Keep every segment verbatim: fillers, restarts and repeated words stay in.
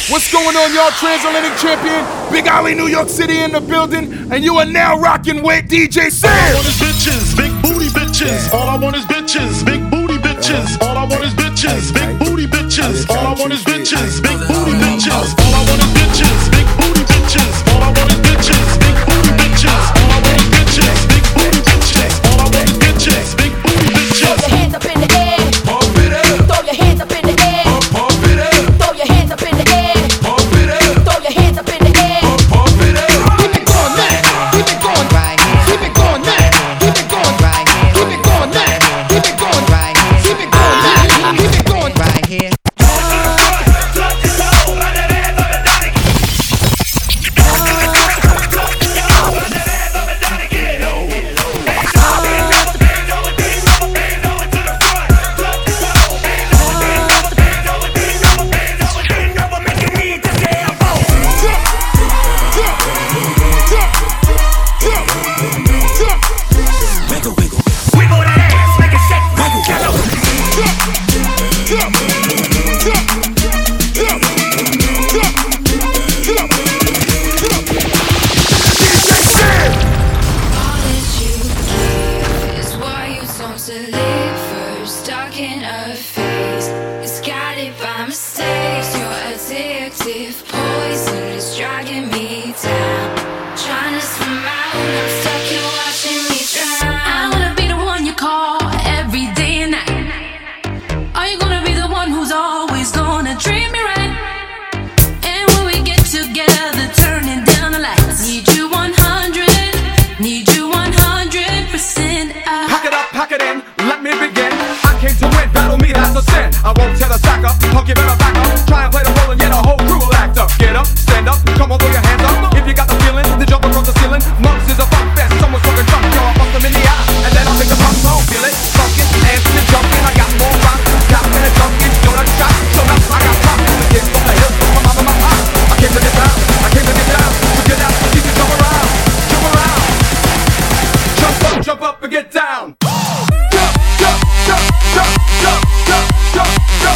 What's going on, y'all? Transatlantic champion, Big Ollie, New York City in the building, and you are now rocking with D J Sam. All I want is bitches, big booty bitches. All I want is bitches, big booty bitches. All I want is bitches, big booty bitches. All I want is bitches, big booty bitches. All I want is bitches, big booty bitches. All I want is bitches, big booty bitches. All I want is bitches, big booty bitches. All I want is bitches, big booty bitches. Throw your hands up in the air. Pump it up. Throw your hands up in the air. Pump it up. Throw your hands up in the air. Pump it up. Throw your hands up in the air. Pump it up. Keep it going now. Keep it going right here. Keep it going now. Keep it going right here. Keep it going now. Keep it going right here. Keep it going now. Keep it going right here. I won't tell a sack up, punk you better back up. Try and play the role and yet a whole crew will act up. Get up, stand up, come on, throw your hands up. If you got the feeling, then jump across the ceiling. Monks is a funk fest, someone's smoking drunk. Yo, I bust them in the eye, and then I'll make the pump song. Feel it, funkin', dancing and jumping. I got more rock, got and a junkin', donut shot. So now I got pop, the kids from the hills, my mama, my pop. I came to get down, I came to get down. So get out, keep it jump around, jump around. Jump up, jump up and get down. Jump, jump, jump, jump, jump, jump, jump, jump.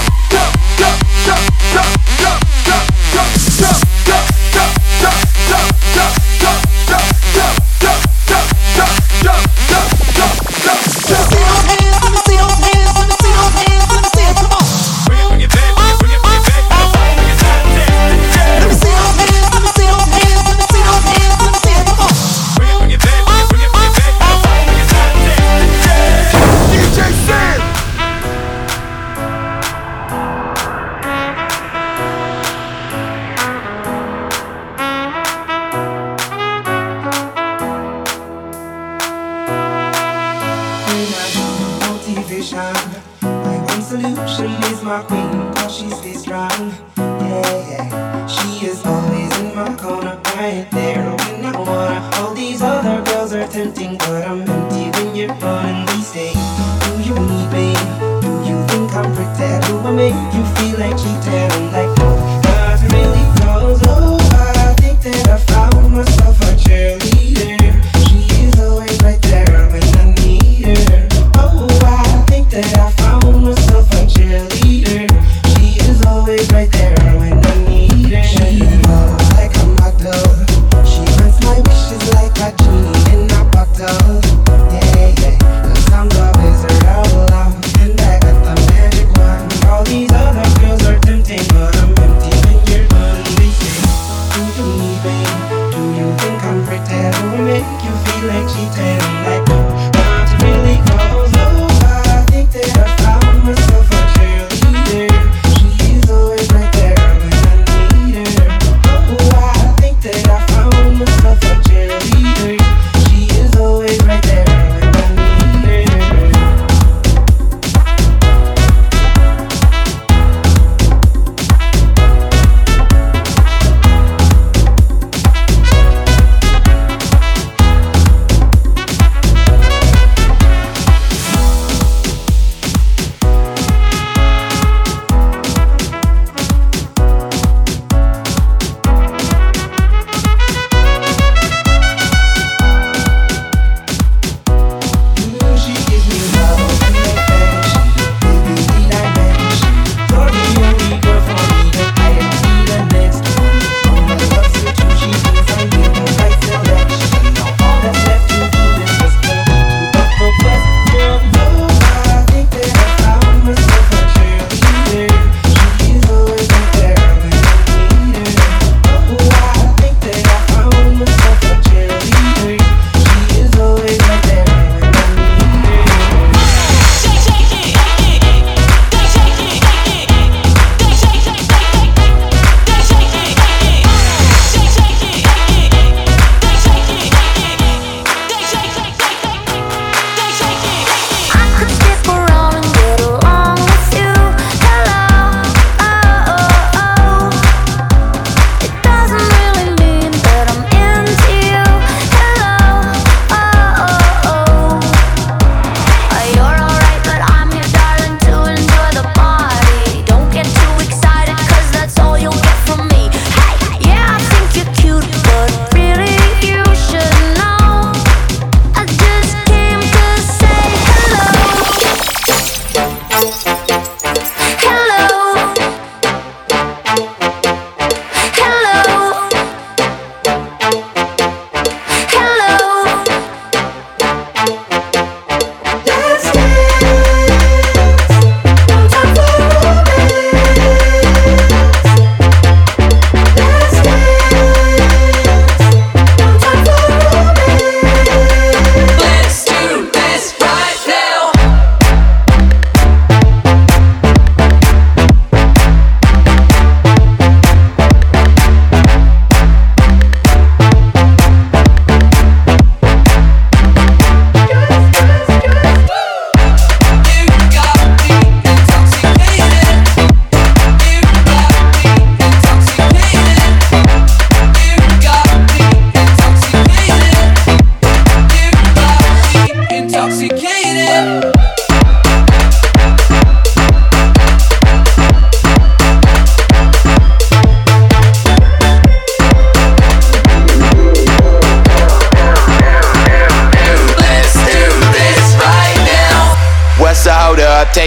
All these other girls are tempting.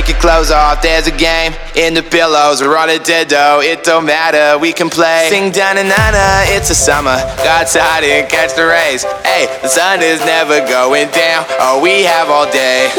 take your clothes off. There's a game in the pillows. We're on a Nintendo, it don't matter, we can play. Sing da-na-na-na, it's a summer. Go outside and catch the rays. Hey, the sun is never going down. Oh, we have all day.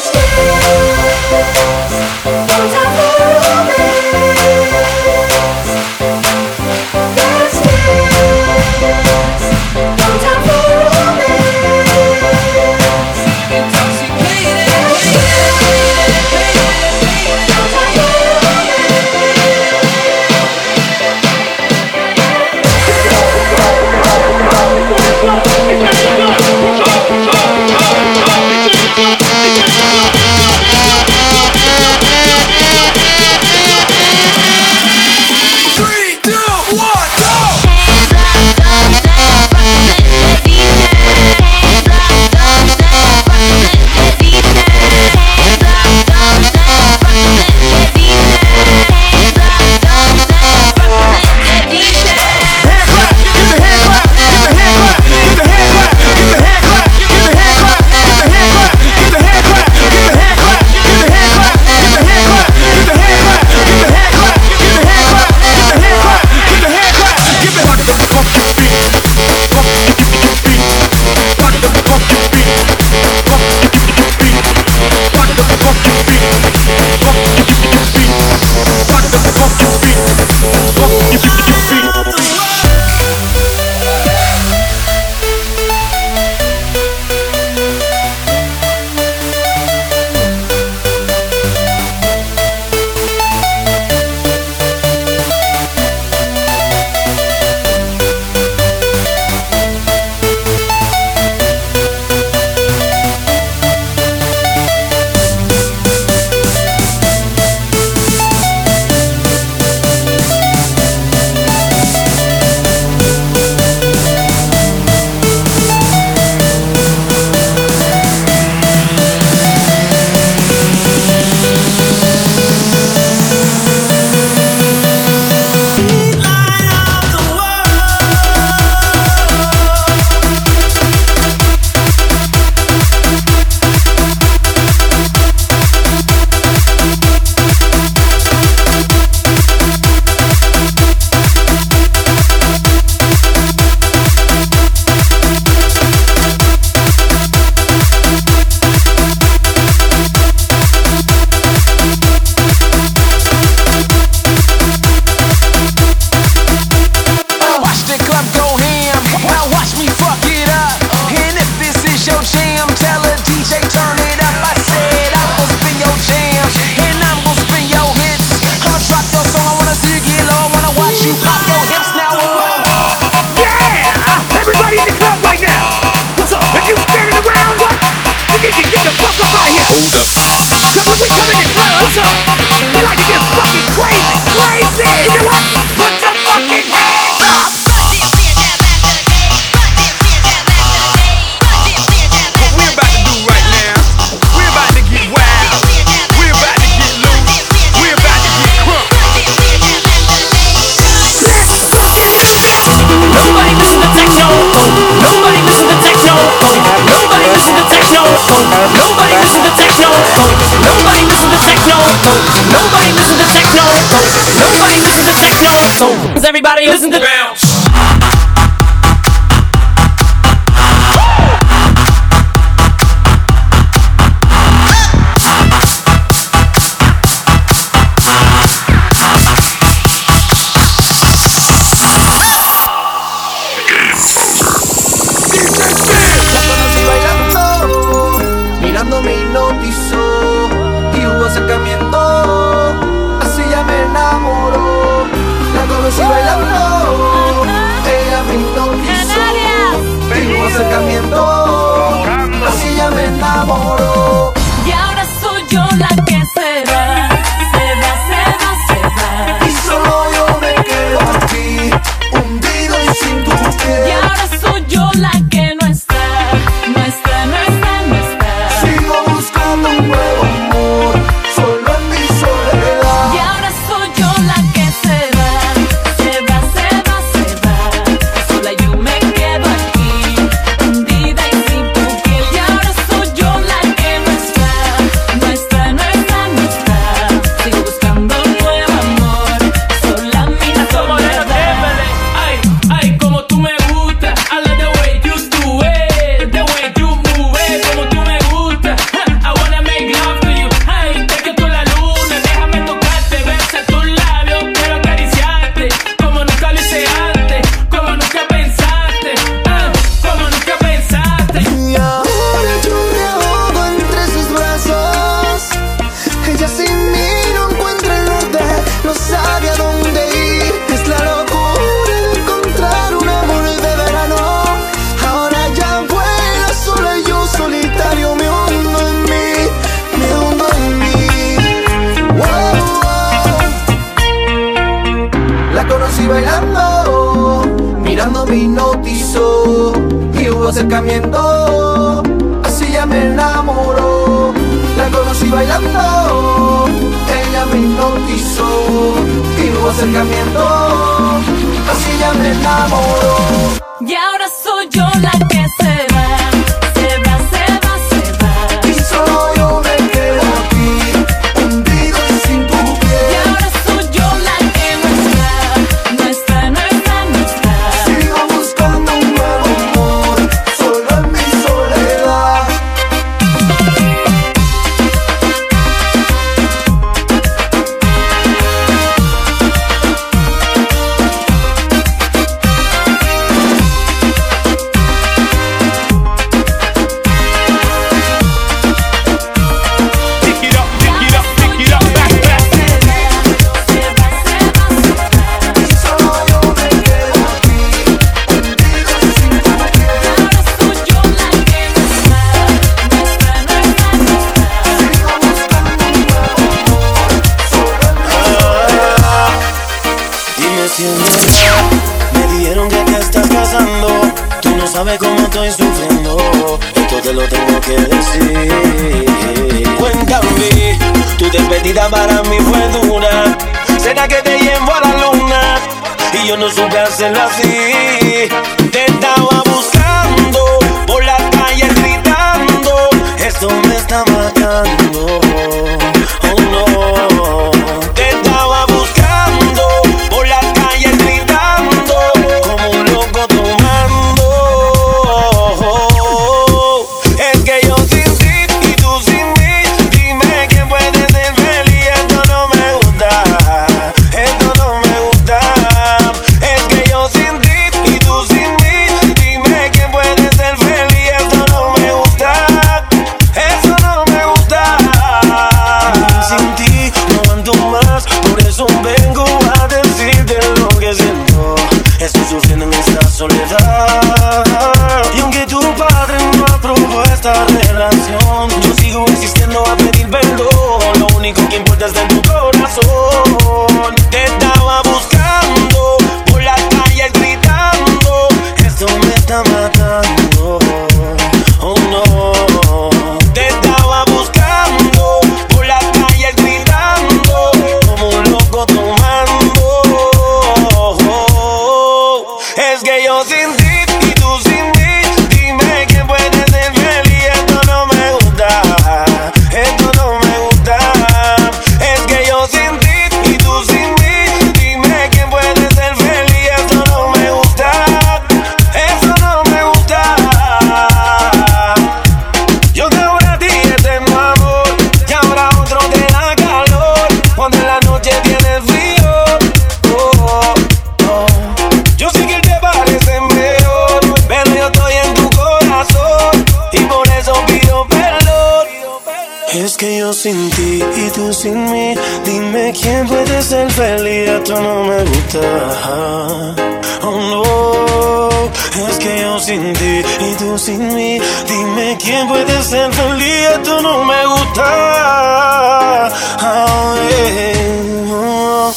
Everybody listen to bounce. Mirando me hipnotizó y hubo acercamiento, así ya me enamoró. La conocí bailando, ella me hipnotizó y hubo acercamiento, así ya me enamoró. Y ahora soy yo la que se va, se va, se va, se va. Y solo yo me quedo aquí, hundido y sin tu piel. Y ahora soy yo la que no está, no está, no está, no está. Sigo buscando un nuevo amor, solo en mi soledad. Y ahora soy yo la que se va, se va, se va, se va. Sola yo me quedo aquí, hundida y sin tu piel. Y ahora soy yo la que no está, no está, no está, no conocí bailando, mirando me hipnotizó y hubo acercamiento, así ya me enamoró. La conocí bailando, ella me hipnotizó y hubo acercamiento, así ya me enamoró. Y ahora soy yo la que se va, se va, se va, se va. Y solo yo me quedo aquí, hundido sin tu piel. Y ahora soy yo la que no está, no está, no está, no está. Sigo buscando un nuevo amor, solo en mi soledad. Me dijeron que te estás casando, tú no sabes cómo estoy sufriendo, esto te lo tengo que decir. Cuéntame, tu despedida para mí fue dura, será que te llevo a la luna y yo no supe hacerlo así. Te estaba buscando por las calles gritando, esto me está matando, oh no. Te estaba buscando por las calles gritando, como un loco tomando. Es que yo sin ti y tú sin mí, dime quién puede ser feliz. Esto no me gusta, esto no me gusta. Es que yo sin ti y tú sin mí, dime quién puede ser feliz. Esto no me gusta, eso no me gusta. Sin ti no aguanto más, por eso vengo a decirte lo que siento. Estoy sufriendo en esta soledad, y aunque tu padre no aprobó esta relación, yo sigo insistiendo a pedir perdón. Lo único que importa está en tu corazón. Te estaba buscando por las calles gritando, esto me está matando, oh no. Te estaba buscando por las calles gritando, como un loco tomando. Es que yo sin ti y tú sin mí, dime quién puede ser feliz. Esto no me gusta, esto no me gusta. Es que yo sin ti y tú sin mí, dime quién puede ser feliz. Esto no me gusta, eso no me gusta. Yo te voy a ti eterno amor, y ahora otro te da calor, cuando en la noche tienes frío. Oh, oh. Yo sé que te parece mejor, pero yo estoy en tu corazón y por eso pido perdón. Es que yo sin ti y tú sin mí, dime quién puede ser feliz. Esto no me gusta, oh no. Es que yo sin ti y tú sin mí, dime quién puede ser feliz. Esto no me gusta, oh, yeah, oh.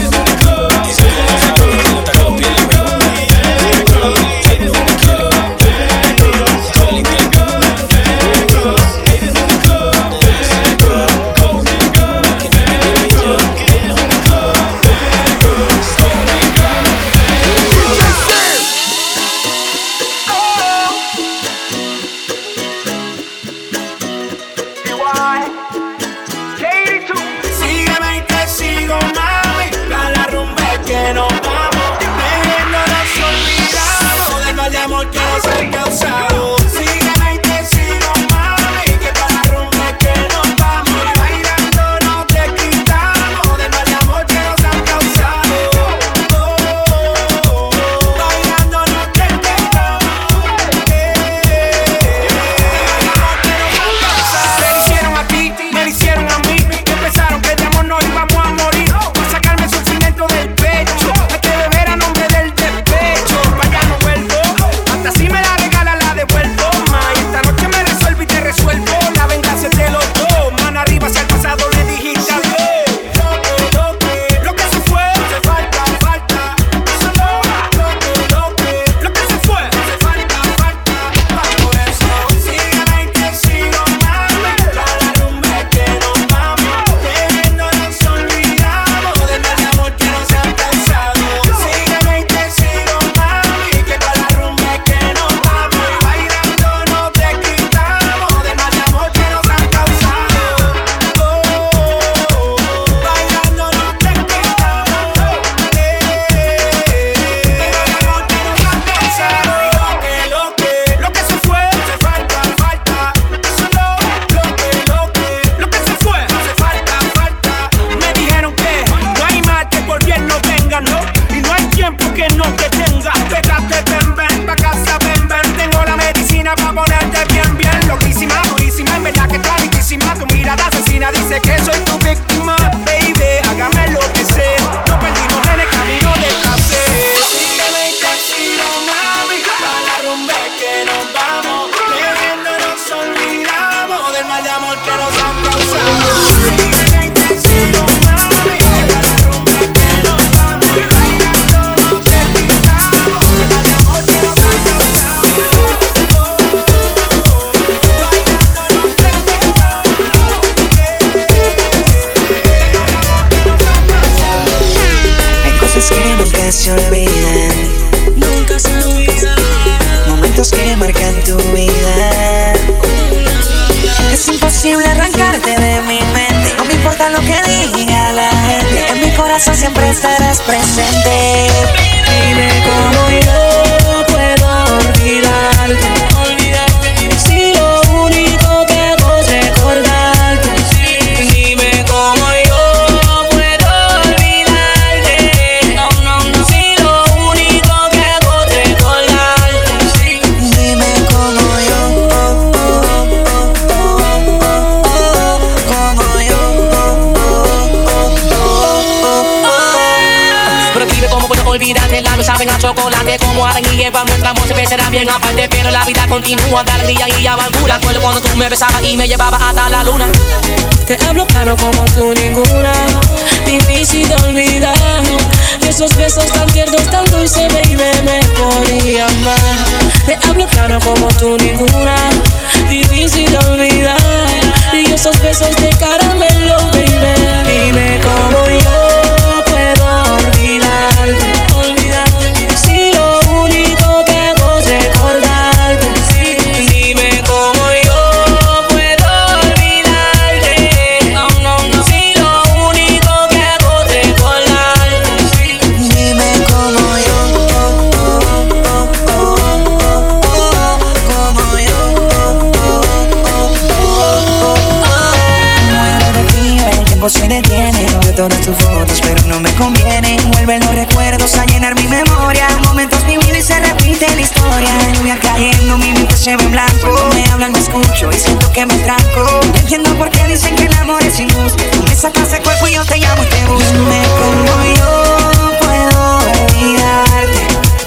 Sígueme y te sigo, mami, a la rumba es que nos vamos, bebiéndonos olvidamos del mal de amor que nos ha causado. Sígueme y te sigo, mami, que para la rumba es que nos vamos, bailando no te quitamos del mal de amor que nos han causado. Oh, oh, oh, bailando no te quitamos, eh, me lo hicieron a ti, me lo hicieron a mí, que pensaron que de amor no íbamos a morir, por sacarme el sufrimiento del pecho, hay que beber a nombre del despecho, para allá no vuelvo, hasta si me la regala la devuelvo. que no te tenga. Pégate, ven, ven, pa' casa, ven, ven. Tengo la medicina pa' ponerte bien, bien. Loquísima, durísima, en verdad que está riquísima. Tu mirada asesina dice que soy tu víctima. Baby, hágame lo que sé. No perdimos en el camino de placer. Sígueme y te sigo, mami, pa' la rumba que nos vamos. Bebiendo nos olvidamos del mal de amor que nos han causado. Sígueme y te sigo, mami, pa' la rumba que nos vamos. Bailando nos despistamos del mal de amor que nos han causado. Hay cosas que nunca se olvidan, nunca se olvidan. Momentos que marcan tu vida. Es imposible arrancarte de mi mente. No me importa lo que diga la gente. En mi corazón siempre estarás presente. Dime cómo yo puedo olvidarte. Olvidarte. Si lo único que hago es recordarte. Dime cómo yo puedo olvidarte. No, no, no. Si lo único que hago es recordarte. Dime cómo yo, oh, oh, oh, oh, oh, oh, como yo, oh, oh, oh, oh, oh. Pero dime cómo puedo olvidarte, labios saben a chocolate. Como Adán y Eva, nuestro amor siempre será bien aparte. Pero la vida continúa, de alegría y amargura. Recuerdo cuando tú me besabas y me llevabas hasta la luna. Te hablo claro como tú ninguna, difícil de olvidar. De esos besos tan tiernos, tan dulces, baby, me podía amar. Te hablo claro como tú ninguna, difícil de olvidar. Y esos besos de caramelo, baby. Dime cómo yo puedo olvidarte, olvidarte. Si lo único que hago es recordarte. Dime cómo yo puedo olvidarte. No, no, no. Si lo único que hago es recordarte. Dime cómo yo, oh, oh, oh, oh, oh, oh, como yo, oh, oh, oh, oh, oh. Muero de frío, el tiempo se detiene. Veo todas tus fotos, pero no me conviene. Vuelven los recuerdos a llenar mi memoria. Momentos vividos y se repite la historia. Lluvia cayendo, mi mente se ve en blanco. Me hablan, me escucho y siento que me tranco. No entiendo por qué dicen que el amor es injusto. Tú me sacas el cuerpo y yo te llamo y te busco. Dime cómo yo puedo olvidarte.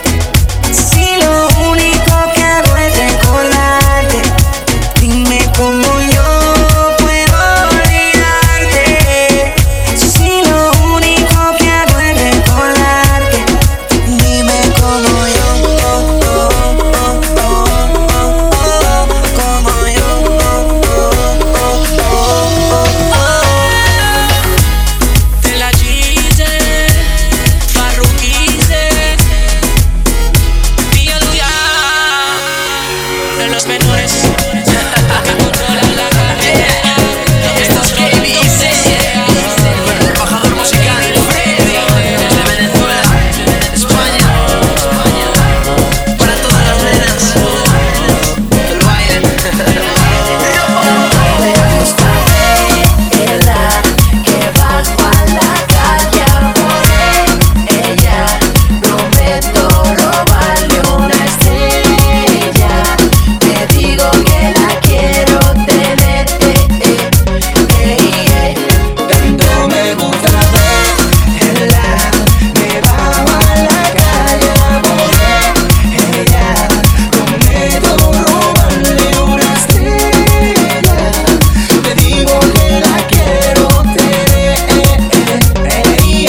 Si lo único que hago es recordarte. Dime cómo yo puedo olvidarte. Si lo único que hago es recordarte. Dime cómo yo, oh, oh, oh, oh, oh, oh, como yo, oh, oh, oh, oh, oh. Te la quise, Farruquise, Pialuya, de los menores que controlan la carrera. Estos que dicen, el embajador musical Freddy, desde Venezuela, España, para todas las nenas que lo bailen. Ella que bajo a la calle a por ella, prometo robarle una estrella. Te digo que la quiero tener, eh, eh, eh, eh. No me gusta verla, me bajo a la calle a por ella, prometo robarle una estrella. Te digo que la quiero tener, Y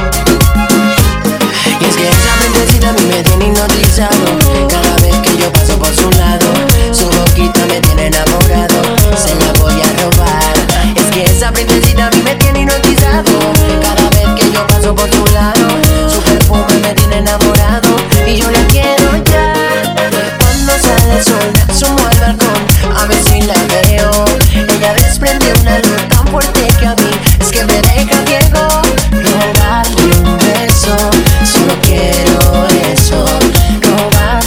es que esa mentecita a mí me tiene hipnotizado. Cada vez que yo paso por su lado, su boquita me tiene enamorado. Se la voy a robar. Es que esa princesita a mí me tiene hipnotizado. Cada vez que yo paso por su lado, su perfume me tiene enamorado. Y yo la quiero ya. Cuando sale el sol, me asomo al balcón a ver si la veo. Ella desprende una luz tan fuerte que a mí es que me deja ciego. Robarle un beso, solo quiero eso. Robarle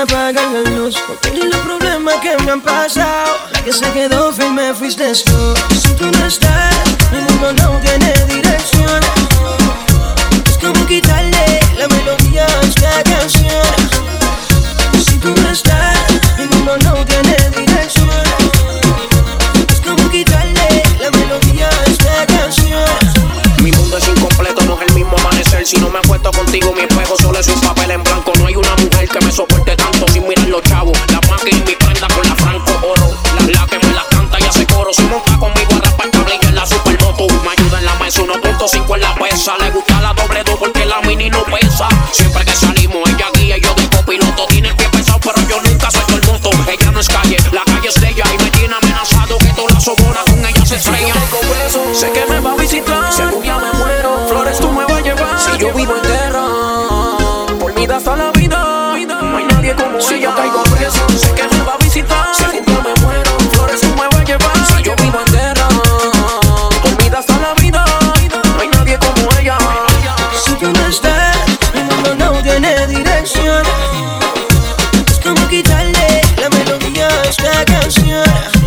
apagan la luz. Por todos los problemas que me han pasado, la que se quedó firme fuiste tú. Si tú no estás, el mundo no tiene dirección. Es como quitarle la melodía a esta canción. Si tú no estás, el mundo no tiene dirección. Es como quitarle la melodía a esta canción. Mi mundo es incompleto, no es el mismo amanecer. Si no me acuesto contigo, mi espejo solo es un papel en blanco. No hay una mujer que me soporte tanto sin mirar los chavos. La máquina y mi prenda con la franco oro. La, la que me la canta y hace coro. Si monta conmigo a rapar tablilla en la supermoto. Me ayuda en la mesa uno punto cinco en la pesa. Le gusta la doble dos porque la mini no pesa. Siempre que salimos ella guía y yo de copiloto. Tiene el pie pesado pero yo nunca suelto el moto. Ella no es calle, la calle es de ella. Y me tiene amenazado que todas las sobonas con ella se estrellan. Sé que me va a visitar, si algún día me muero, flores tú me vas a llevar. Si yo vivo en guerra, por mí da hasta la vida. No hay nadie como si ella. Yo caigo preso, sé que me va a visitar. Si algún día me muero, flores tú me vas a llevar. Si yo vivo en guerra, por mí da hasta la vida. No hay nadie como ella. Si tú no estás, el mundo no tiene dirección. Es como quitarle la melodía a esta canción.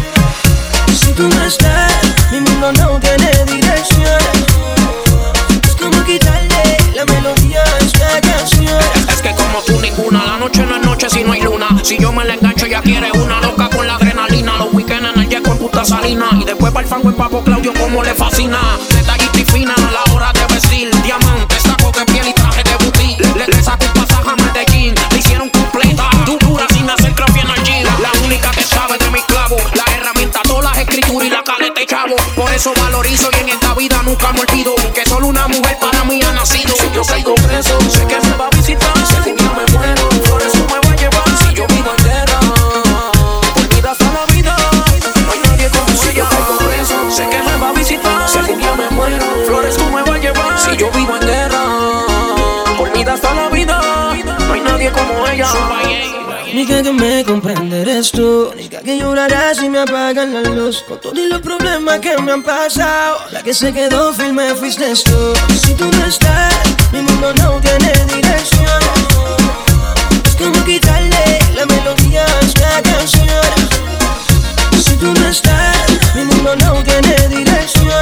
Si tú no estás, mi mundo no tiene dirección. Es como quitarle la melodía a esta canción. Es que como tú ninguna, la noche no es noche si no hay luna. Si yo me la engancho ella quiere una loca con la adrenalina. Los weekends en el jet con puta salina. Y después para el fango y papo Claudio como le fascina. Detallista y fina a la hora de vestir. Diamante, saco de piel y traje de butí. Le, le saco un pasaje a Medellín. Le hicieron completa, tú dura sin hacer crossfit en el gym. La única que sabe de mis clavos, la herramienta, todas las escrituras y la caleta y chavo. Por eso valorizo y en esta vida nunca me olvido que solo una mujer para mí ha nacido. Si yo salgo preso, sé que me va a visitar. Si algún día me muero, flores tú me vas a llevar. Si yo vivo en guerra, por mí da hasta la vida. No hay nadie como si ella. Salgo preso, sé que me va a visitar. Si algún día me muero, flores tú me vas a llevar. Si yo vivo en guerra, por mí da hasta la vida. No hay nadie como ella. Única que me comprende eres tú. Única que llorará si me apagan la luz. Con todos los problemas que me han pasado, la que se quedó firme fuiste tú. Si tú no estás, mi mundo no tiene dirección. Es como quitarle la melodía a esta canción. Si tú no estás, mi mundo no tiene dirección.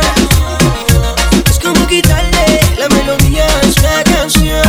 Es como quitarle la melodía a esta canción.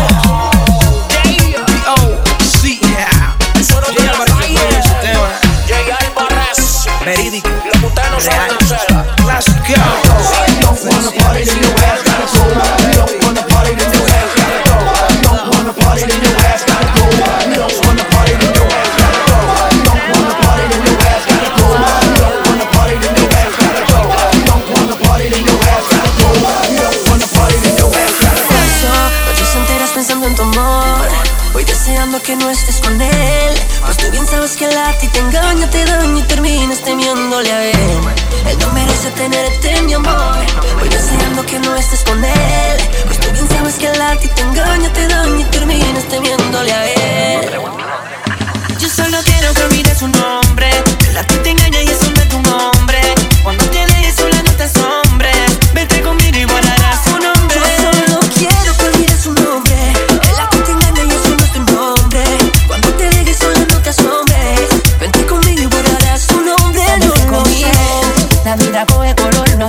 Verídico, lo que ustedes no saben hacer. Let's go. Don't wanna party, then your ass gotta go. Don't wanna party, then your ass gotta go. Don't wanna party, then your ass gotta go. Don't wanna party, then your ass gotta go. Don't wanna party, then your ass gotta go. Don't wanna party, then your ass gotta go. Don't wanna party, then your ass gotta go. Don't wanna party, then your ass gotta go. Paso noches enteras pensando en tu amor. Voy deseando que no estés con él. Pues tú bien sabes que el arte te engaña, te daña y terminas temiéndole a él. Él no merece tenerte, mi amor. Voy deseando que no estés con él. Pues tú bien sabes que el arte te engaña, te daña y terminas temiéndole a él. Yo solo quiero que olvides su nombre. El arte te engaña y eso no es tu nombre. Cuando te dejes sola no te asombres. Vete conmigo y guardarás su nombre. Yo solo quiero que olvides su nombre. El arte te engaña y eso no es tu nombre. Cuando te dejes sola no te asombres. Vente conmigo y guardarás su nombre. No, no sé. La vida coge color, no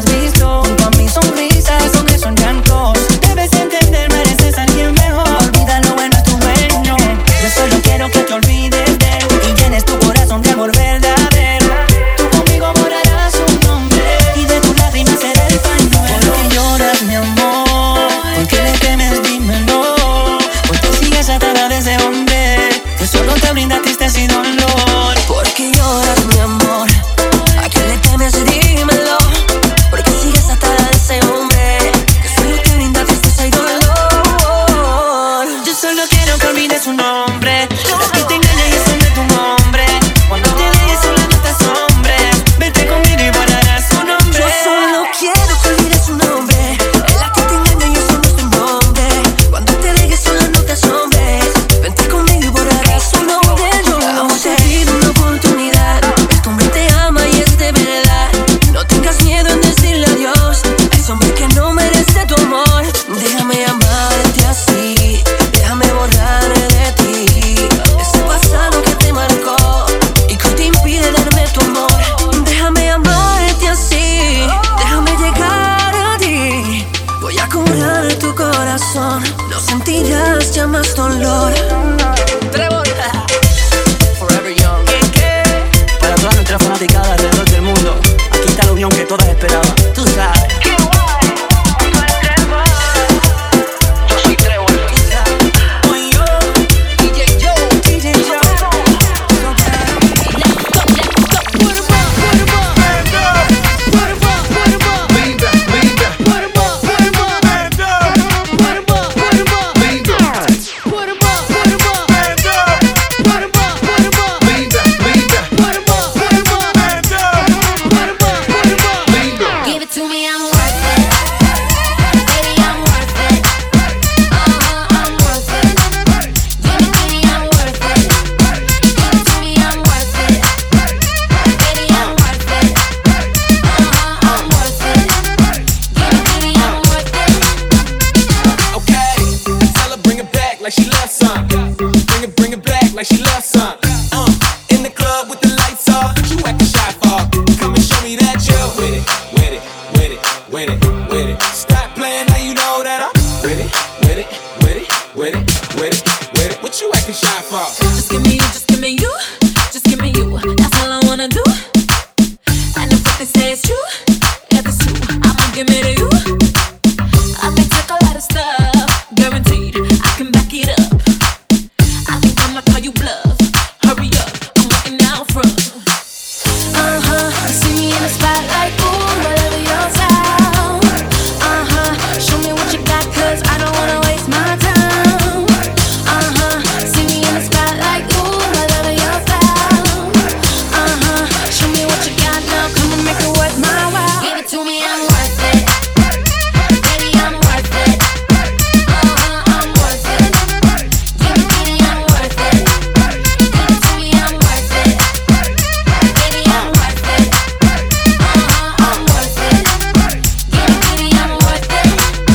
it's true, if it's true, I'ma give it to you. I may take a lot of stuff, guaranteed I can back it up. I think I'ma call you bluff. Hurry up, I'm waiting out front. Uh huh, you see me in the spotlight, ooh, whatever your style. Uh huh, show me what you got, 'cause I don't wanna waste my time. Uh huh, see me in the spotlight, ooh, whatever your style. Uh huh, show me what you got now, come and make it worth my while. Give it to me, I'm worth it. Baby, I'm worth it. Uh huh, I'm worth it. Give it to me, I'm worth it. Give it to me, I'm worth it. Baby, I'm worth it. Uh huh, I'm worth it. Give it to me, I'm worth it.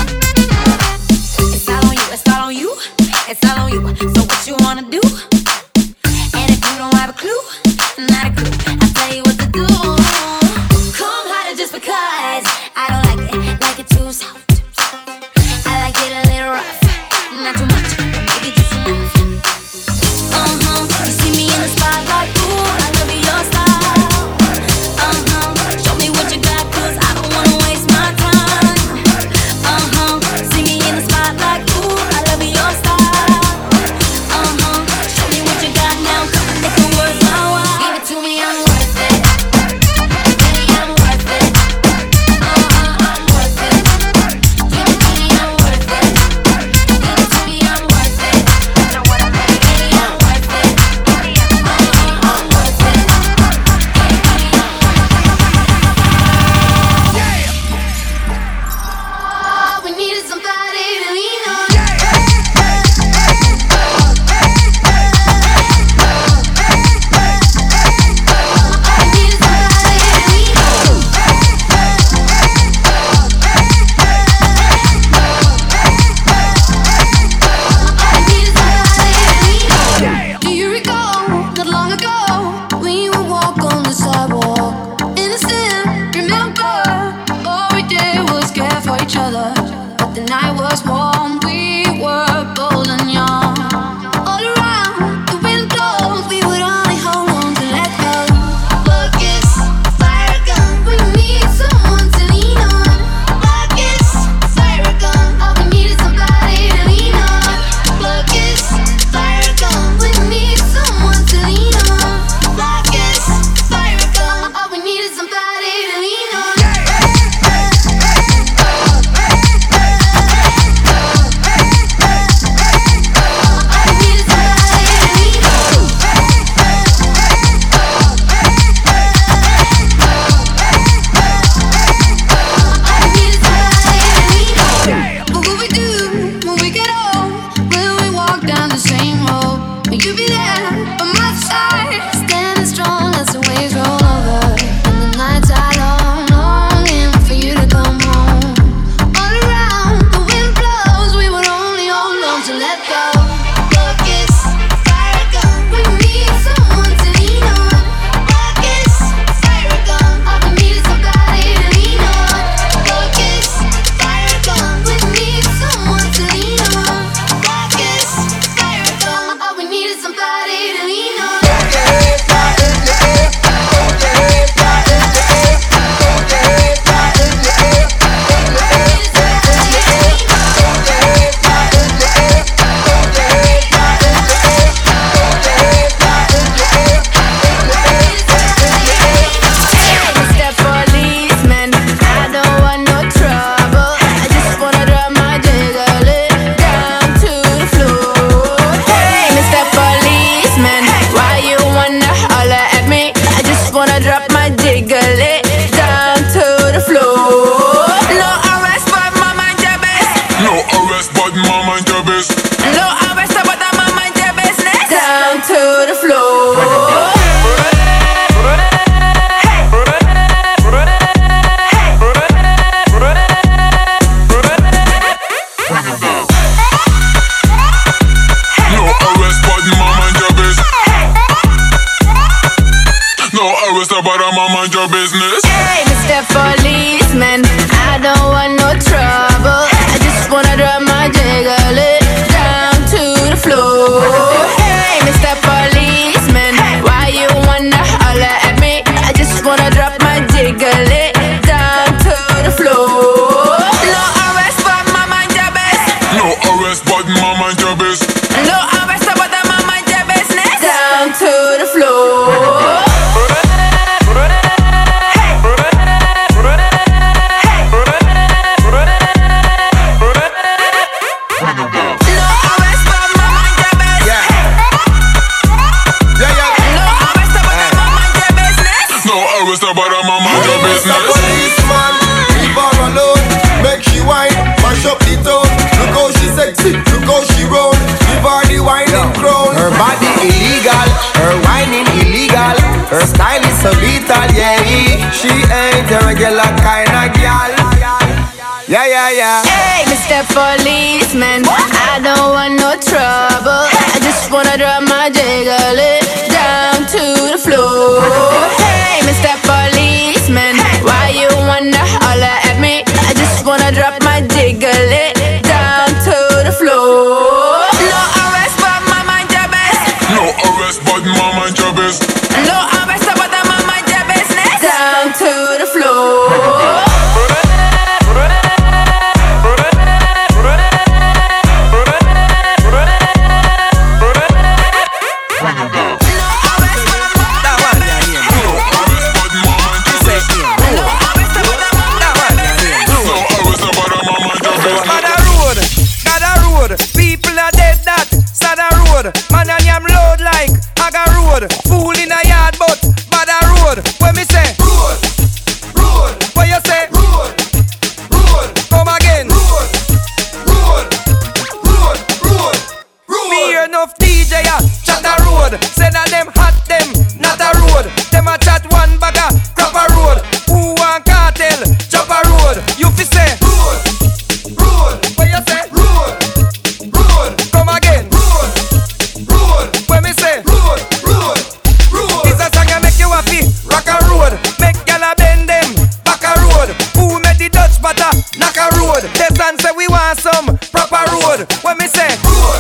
It's all on you, it's all on you, it's all on you. So what you wanna do? And if you don't have a clue, not a clue, I'll tell you what to do. Come harder just because I don't like it, like it too soft. I like it a little rough, not too much, maybe just enough. Uh-huh, you see me in the spotlight, ooh, I love your style. Uh-huh, show me what you got, 'cause I don't wanna waste my time. Uh-huh, see me in the spotlight, ooh, I love your style. Uh-huh, show me what you got now, come and make it worth my while. Give it to me, I'm worth it. Baby, I'm worth it. Uh-huh, I'm worth it. Give it to me, I'm worth it. Give it to me, I'm worth it. Know what I mean? Baby, I'm worth it. Uh-huh, I'm worth it. All we need is somebody to lean on. All we need is somebody to lean on. All we need is somebody to lean on. Do you recall, not long ago, we would walk on the sidewalk? Innocent, remember, all we did was care for each other. But the night was warm, we were bold and young. All around, the wind blows, we would only hold on to let go. Look, it's a fire gun, we need someone to lean on. Look, it's a fire gun, all we need is somebody to lean on. Look, it's a fire gun, we need someone to lean on. Look, it's a fire gun, all we need is somebody to lean on. What will we do when we get old? Will we walk down the same road? Will you be there by my side, standing strong as the waves roll over? And the nights are long, longing for you to come home. All around, the wind blows, we would only hold on to let go. Look, it's a fire gun, we need someone to lean on. Look, it's a fire gun, all we need is somebody to lean on. Look, it's a fire gun, we need someone to lean on. Look, it's a fire gun, all we need is somebody to lean on. Mister Policeman, I don't want no trouble. I just wanna drop my jiggle it down to the floor. Hey, Mister Policeman, why you wanna holler at me? I just wanna drop my jiggle it down to the floor. No arrest, but my mind your best. No arrest, but my mind your best. No arrest, but my mind your business. Down to the floor. No arrest, but my mind your best. No arrest, but my mind your business. Hey, Mister Policeman, I don't want no trouble. I just wanna drop my jiggle it down to the floor. Hey, Mister Policeman, why you wanna holler at me? I just wanna drop my jiggle it always about a man mind your business. Mister Policeman, leave her alone. Make she whine, mash up the town. Look how she sexy, look how she roll. Give her the whining crown. Her body illegal, her whining illegal. Her style is so lethal, yeah. She ain't a regular kind of girl. Yeah, yeah, yeah. Hey, Mister Policeman, I don't want no trouble. I just wanna drop my jiggle it down to the floor. Hey, Mister Policeman, why you wanna holler at me? I just wanna drop my jiggle it down to the floor. No arrest, but my mind your best. No arrest, but my mind your best. No arrest, but my mind your business. Down to the floor. Man and yam load like Aga road. Fool in a yard but bad a road. When me say road, road. What you say? Road, road. Come again. Road, road, road, road, road. Me hear enough D J a chat a road. Say that them hot them not a road. Them a chat one bag a crap a road. Who want cartel? Chop a road. You fi say road, road. What you say? Road, road. Come again. When me say road, road, road. It's a song that make you happy. Rock a road, make gyal bend them. Back a road. Who made the Dutch butter? Knock a road. The son say we want some proper road. When me say road,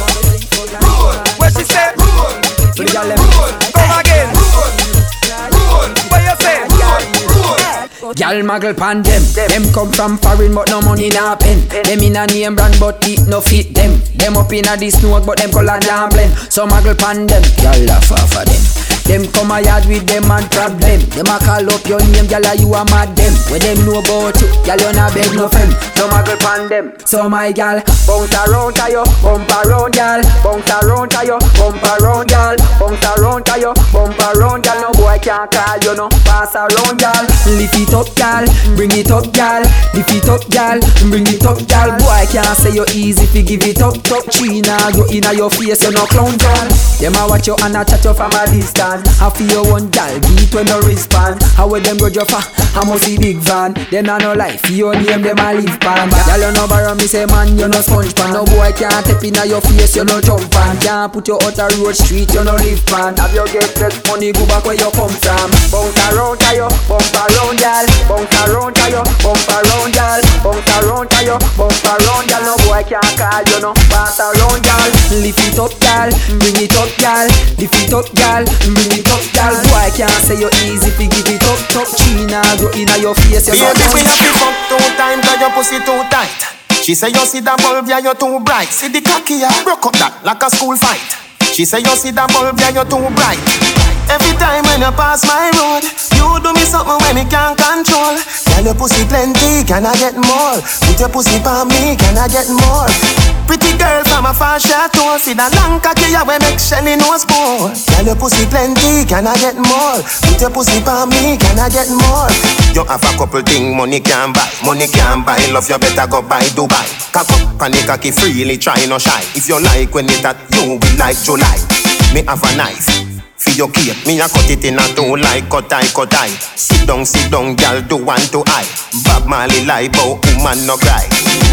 road. When she say road, road. Come again. Road, road. When you say road, road. Gyal muggle pan them. Them come from foreign but no money na pen. Them in a name brand but it no fit them. Them up in a this smoke but them color jam blend. So muggle pan them, gyal laugh off of them. Them come a yard with them and problem. Them a call up your name, gyal you a mad them. When them know about you, gyal you na beg no friend. So muggle pan them. So my gyal, bounce around to you, bump around gyal. Bounce around to you, bump around gyal. Bounce around to you, bump around gyal. No boy can't call you no. Pass around gyal. Lift it up gyal, bring it up gyal. Lift it up gyal, bring it up gyal. Boy can't say you easy if you give it up. Top China, you inna your face, you no clown gyal. Them a watch you and a chat you from a distance. I feel one gal, beat when no respond. How with them go you for? I must see big van. Them a no life, your name them a live pan. Gal you no borrow me say man, you no sponge pan. No boy can't tap inna your face, you no jump pan. Can't put you out a road street, you no live pan. Have you get less money, go back where you come from. Bounce around to you, bump around gal. Bounce around to you, bump around gal. Bounce around to you, bump around gal. No boy can't call you no. Pass around gal, lift it up gal, bring it up gal. Lift it up gal, bring it up, girl. Boy can't say you easy if you give it up. Top China, go inna your face. Baby, we have to fuck two times, cause your pussy too tight. She say you see the bulb, yeah, you're too bright. See the cocky, yeah, broke up that like a school fight. She say you see the bulb, yeah, you're too bright. Every time when you pass my road, you do me something when me can't control. Girl, your pussy plenty, can I get more? Put your pussy for me, can I get more? Pretty girl from a far chateau, see the long cocky, yeah, we make Shelly nose pour. Girl, your pussy plenty, can I get more? Put your pussy for me, can I get more? You have a couple things money can buy, money can buy. Love you better go buy Dubai. Cock up and the cocky freely, try no shy. If you like when it that, you will like July. Me have a knife. For your cake, me a cut it in a two like cut eye, cut eye. Sit down, sit down, girl, do one to eye. Bob Marley lie, but woman no cry.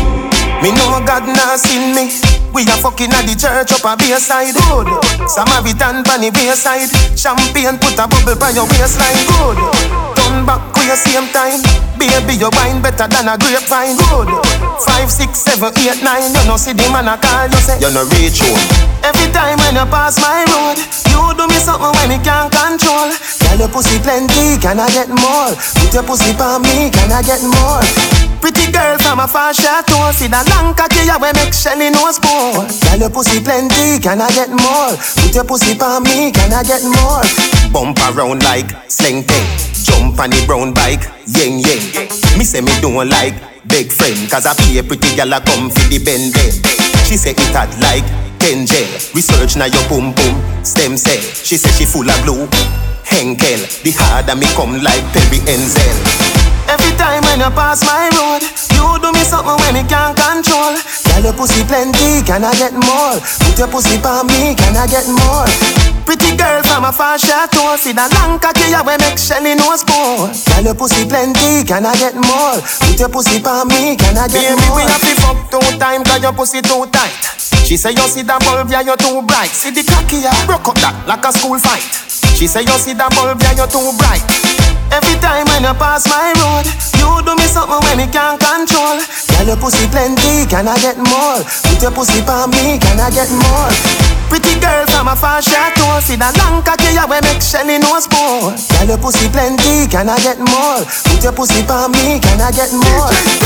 Me know God nah seen me. We a fucking at the church up a Bayside road. Samaritan pan the Bayside. Champagne put a bubble by your waistline good. Turn back with your same time. Baby, your wine better than a grapevine good. Five, six, seven, eight, nine. You no see the man a call, you say you no reach home. Every time when you pass my road, you do me something when me can't control. Girl, your pussy plenty, can I get more? Put your pussy for me, can I get more? Pretty girl from a far chateau, see the long cocky, yeah, we make Shelly nose pour. Girl, your pussy plenty, can I get more? Put your pussy for me, can I get more? Bump around like sling thing. Jump on the brown bike, yeng yeng. Me say me don't like big friend, cause I pay a pretty girl a come for the bend bend. She say it hot like ten gel. Research na your boom boom, stem cell. She say she full of blue. Henkel. The harder me come like Perry Enzel. Every time when you pass my road, you do me something when me can't control. Girl, your pussy plenty, can I get more? Put your pussy pa me, can I get more? Pretty girl from a far chateau, see the long cocky ya we make Shelly nose pour. Girl, your pussy plenty, can I get more? Put your pussy pa me, can I get Baby, more? Baby, we have to fuck two times, cause your pussy too tight. She say you see the bulb, yeah, you're too bright. See the cocky ya, broke up that like a school fight. She say you see the bulb, yeah, you're too bright. Every time when you pass my road, you do me something when me can't control. Girl, your pussy plenty, can I get more? Put your pussy pa me, can I get more? Pretty girl from a far chateau, see the long cocky ya we make Shelly nose pour. Girl, your pussy plenty, can I get more? Put your pussy pa me, can I get more?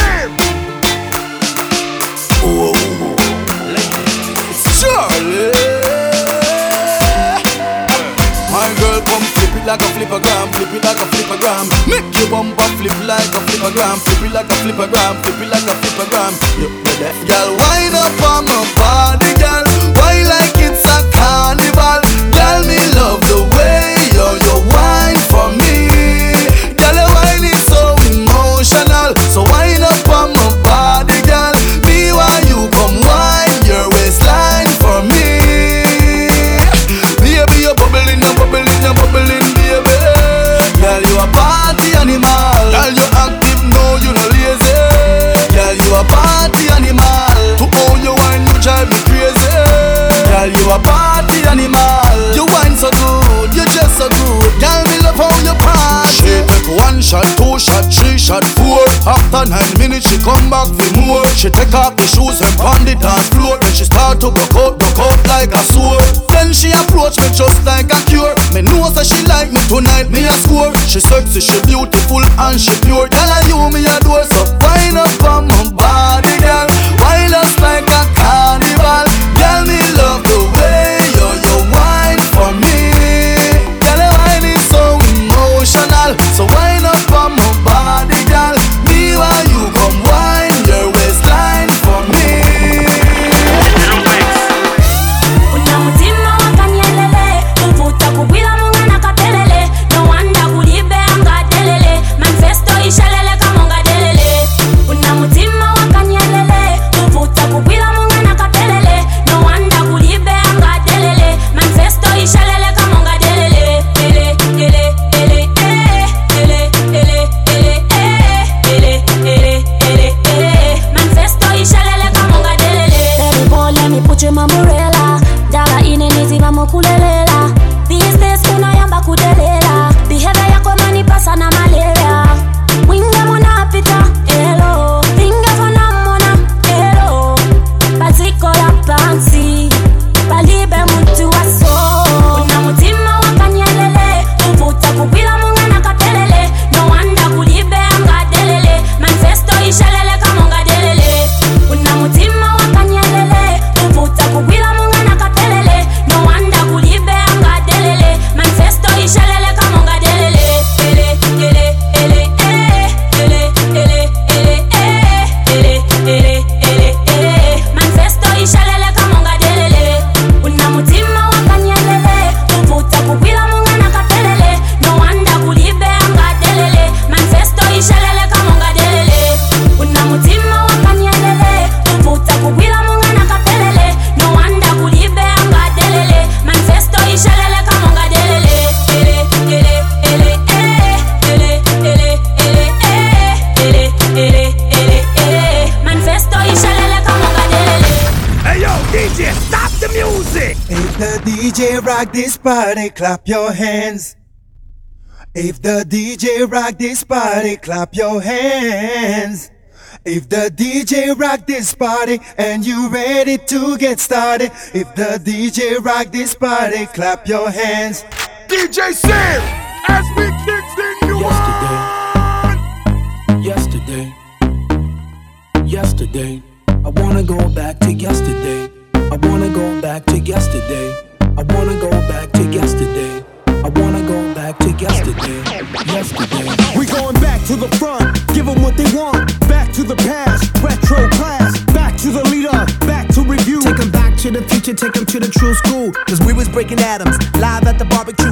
Oh, Charlie, my girl, come flip it like a flippergram, flip it like a flippergram. Make your bumper flip like a flippergram, flip it like a flippergram, flip it like a flippergram. You ready? Girl, wind up on my body, girl. Why like it's a carnival? Girl, me love the way you you wine for me. Girl, your wine is so emotional. So wind up on my body, girl. Me while you come wine your waistline for me. Baby, you're bubbling, you're bubbling, you're bubbling, baby. Girl, you a party animal. Girl, you active, no, you no lazy. Girl, you a party animal. To all you wine, you drive me crazy. Girl, you a party animal. You wine so good, you just so good. Girl, me love how you party. She take one shot, two shot, three shot, four. After nine minutes, she come back for more. She take off the shoes and pound it on floor. Then she start to broke out, broke out like a sword. Then she approach me just like a cure. Me know that she like me tonight, me a score. She sexy, she beautiful and she pure. Girl, I you me adore, so wind up on my body, girl. Wind us like a carnival. Girl, me love the way you you wine for me. Girl, your wine is so emotional. So wind up on my body, girl. Me while you come wine your waistline for me. Una mutima wakanyelele, uvuta kubwila munga nakatelele. No wanda kulibe anga delele, manifesto ishalele kamonga delele. Una mutima wakanyelele, uvuta kubwila munga nakatelele. No wanda kulibe anga delele, manifesto ishalele kamonga delele. Ele, ele, ele, eh, ele, ele, ele, eh, ele, ele, ele, eh, manifesto ishalele kamonga delele. Baby boy, let me put you in my umbrella. Dala inenizi vamos kulelela. Business unayamba kudelela. Behavior yako manipasa na malaria. Winga mona apita, hello. Vinga fona mona, hello. Baziko la pansi, balibe mtu waso. Una mutima wakanyelele, uvuta kubila munga nakatelele. No wanda kulibe anga delele, manifesto ishalele kamonga delele. Una mutima wakanyelele, uvuta kubila munga nakatelele. No wanda kulibe anga delele, manifesto ishalele kamonga delele. Ele, ele, ele, eh, ele, ele, ele, eh, ele, ele, ele, eh, manifesto ishalele kamonga delele. Una mutima wakanyelele, uvuta kubila munga nakatelele. No wanda kulibe anga delele, manifesto ishalele kamonga delele. Una mutima wakanyelele, uvuta kubila munga nakatelele. No wanda kulibe anga delele, manifesto ishalele kamonga delele. Ele, ele, ele, eh, ele, ele, ele, eh, ele, ele, ele, eh, manifesto ishalele kamonga delele. Hey yo, D J, stop the music! If the D J rock this party, clap your hands. If the D J rock this party, clap your hands. If the D J rock this party and you ready to get started. If the D J rock this party, clap your hands. D J Sam, as we kicks in you Yesterday, yesterday, I wanna go back to yesterday. I wanna go back to yesterday. I wanna go back to yesterday. I wanna go back to yesterday. Yesterday. We going back to the front, give them what they want. Back to the past, retro class. Back to the leader, back to review. Take them back to the future, take them to the true school. Cause we was breaking atoms, live at the barbecue. Now we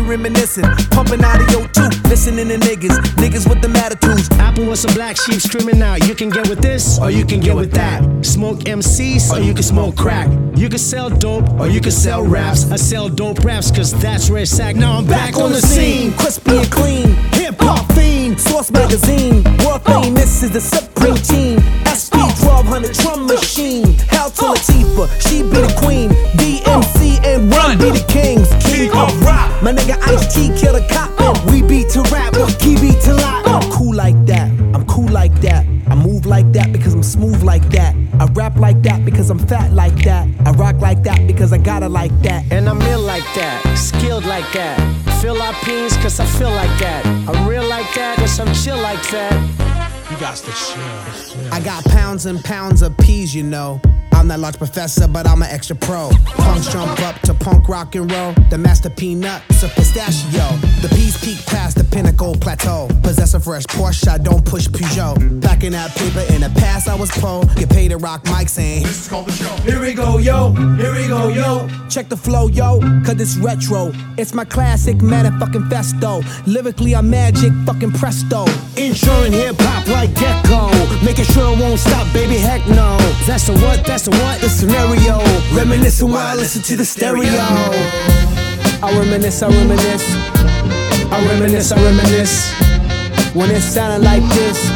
reminiscing. Pumping out of yo too, listening to niggas. Niggas with them attitudes. Apple with some black sheep screaming out. You can get with this, or you can get with that. Smoke M Cs, or you can smoke crack. You can sell dope, or you can sell raps. I sell dope raps, cause that's where it's at. Now I'm back, back on the scene, crispy and clean. Hip hop fiend, Source Magazine. World famous is the Supreme Team. S P twelve hundred drum machine. Hell to Latifah, she be the queen. D M C and Run be the kings. King of rock. My nigga Ice-T kill the cop. We beat to rap, key beat to lock. I'm cool like that, I'm cool like that. I move like that because I'm smooth like that. I rap like that because I'm fat like that. I rock like that because I got it like that. And I'm ill like that, skilled like that. Philippines cause I feel like that. I'm real like that cause I'm chill like that. You got to chill. I got pounds and pounds of peas, you know. I'm that large professor, but I'm an extra pro. Punks jump up to punk rock and roll. The master peanuts a pistachio. The peas peak past the pinnacle plateau. Possess a fresh Porsche, I don't push Peugeot. Back in that paper, in the past I was po. Get paid to rock mics and this is called the show. Here we go, yo. Here we go, yo. Check the flow, yo, cause it's retro. It's my classic motherfucking festo. Lyrically, I'm magic fucking presto. Insuring hip hop like Gecko. Making sure it won't stop, baby, heck no. That's the what, that's the what, the scenario. Reminiscing while I listen to the stereo. I reminisce, I reminisce. I reminisce, I reminisce. When it sounded like this.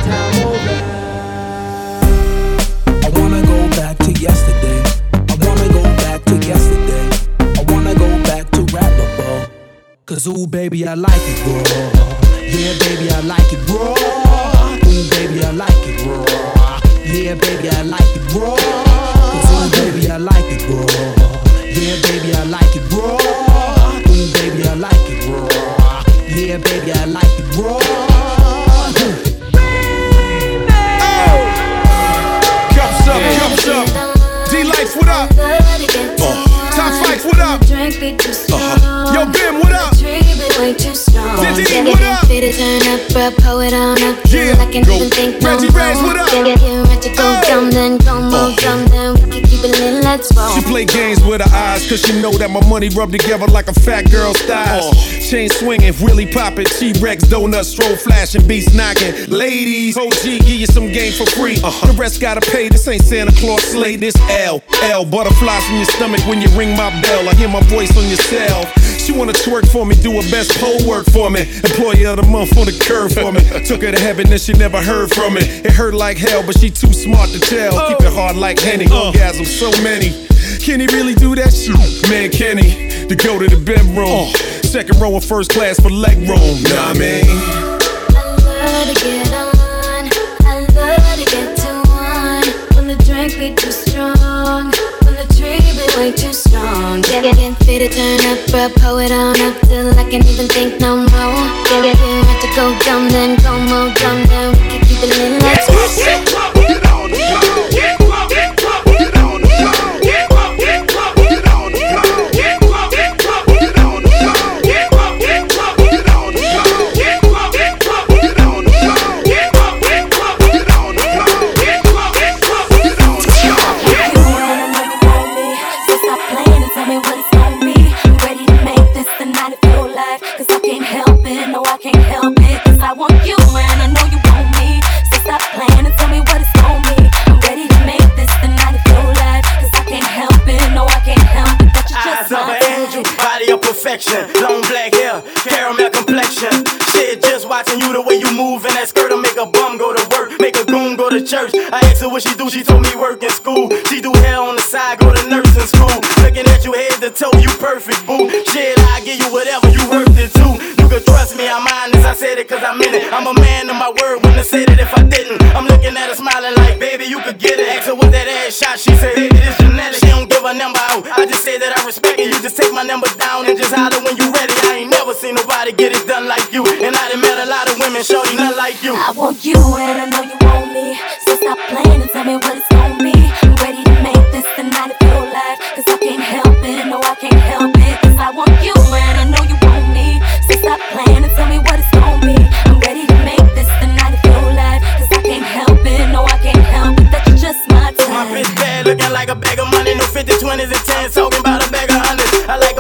I wanna go back to yesterday. I wanna go back to yesterday. I wanna go back to rap, cause ooh baby I like it raw. Yeah baby I like it raw. Ooh baby I like it raw. Yeah baby I like it raw. Cause ooh baby I like it raw. Yeah baby I like it raw. Ooh baby I like it raw. Yeah baby I like it raw. Cups up, cups up. D-Lights, what up? Uh. Top Flights, what up? Uh-huh. Yo, Bim, what up? Diddy, what up? Yeah, go. Reggie Reyes, what up? She play games with her eyes, cause she know that my money rub together like a fat girl's thighs. Uh. Chain swinging, really popping, T-Rex, donuts, stroll flashing, beats knocking. Ladies, O G, give you some game for free. Uh-huh. The rest gotta pay, this ain't Santa Claus slay, this L. L, butterflies in your stomach when you ring my bell. I hear my voice on your cell. She wanna twerk for me, do her best pole work for me. Employee of the month on the curve for me. Took her to heaven and she never heard from me. It hurt like hell, but she too smart to tell. Keep it hard like Henny, orgasm so many. Can he really do that shit? Man, can he? To go to the bedroom. Second row of first class for leg room. Nah, I mean. I love to get on. I love to get to one. When the drink be too strong. When the tree be way too strong. Get it in, fit it, turn up, bro, pull it on up till I can't even think no more. Get it in, have to go dumb, then go more dumb, then we can keep it lit. Let's go. Get on the floor. Get on the floor. Get on the floor. Get on the floor. Get on the floor. Get on the floor. Get on the floor. Get on the floor. Get on the floor. Get on the floor. Get on the floor. Get on the floor. Get on the floor. Get on the floor. Get on the floor. So stop playing and tell me what it's gonna be. I'm ready to make this the night of your life. Cause I can't help it, no I can't help it. Cause I want you and I know you want me. So stop playing and tell me what it's gonna be. I'm ready to make this the night of your life. Cause I can't help it, no I can't help it. That you just eyes of an angel, body of perfection. Long black hair, caramel complexion. Shit, just watching you the way you move in that skirt'll make a bum go to work, make a goon go to church. I asked her what she do, she told me work in school. She do hair on the side, go to nursing school. Looking at you head to toe, you perfect, boo. Shit, I give you whatever you worth it to. You can trust me, I'm honest, I said it cause I'm in it. I'm a man of my word, wouldn't have said it if I didn't. I'm looking at her smiling like, baby, you could get it. Asked her what that ass shot, she said, baby, it's genetic. She don't give a number out, I just say that I respect it. You just take my number down and just holler when you ready. I ain't never seen nobody get it done like you. And I done met a lot of women, shorty, not like you. I want you and I know you want me. So stop playing and tell me what it's gonna be. I'm ready to make this the night of your life. Cause I can't help it, no I can't help it. Cause I want you and I know you want me. So stop playing and tell me what it's gonna be. I'm ready to make this the night of your life. Cause I can't help it, no I can't help it. That you just my time. My bitch bad, looking like a bag of money. No fifty, twenties and tens, talking about a bag of hundreds. I like a fresh